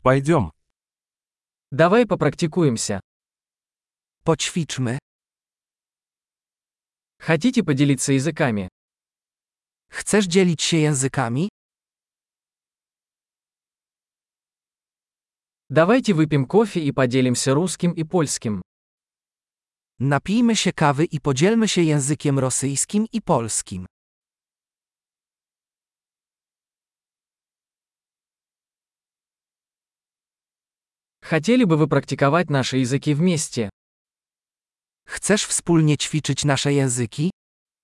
Пойдем. Давай попрактикуемся. Poćwiczmy. Хотите поделиться языками? Chcesz dzielić się językami? Давайте выпьем кофе и поделимся русским и польским. Napijmy się kawy i podzielmy się językiem rosyjskim i polskim. Хотели бы вы практиковать наши языки вместе? Chcesz wspólnie ćwiczyć nasze języki?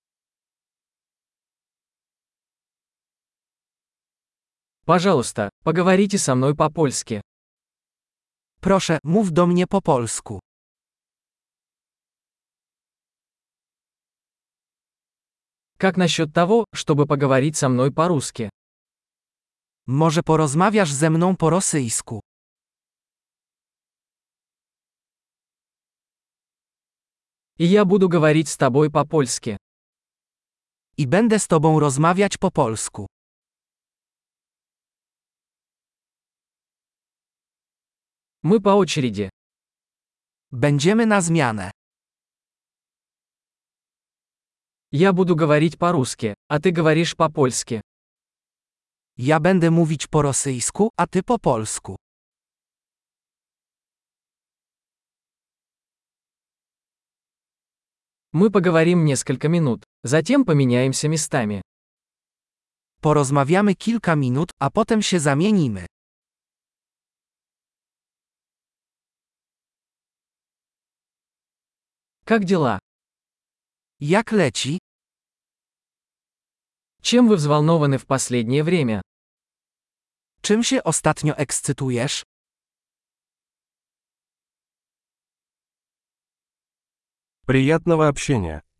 Пожалуйста, поговорите со мной по-польски. Proszę, mów do mnie po polsku. Как насчет того, чтобы поговорить со мной по-русски? Może porozmawiasz ze mną po rosyjsku? И я буду говорить с тобой по-польски. I będę z tobą rozmawiać po polsku. Мы по очереди. Będziemy na zmianę. Я буду говорить по-русски, а ты говоришь по-польски. Ja będę mówić po rosyjsku, a ty po polsku. Мы поговорим несколько минут, затем поменяемся местами. Porozmawiamy kilka minut, a potem się zamienimy. Как дела? Jak leci? Чем вы взволнованы в последнее время? Czym się ostatnio ekscytujesz? Приятного общения.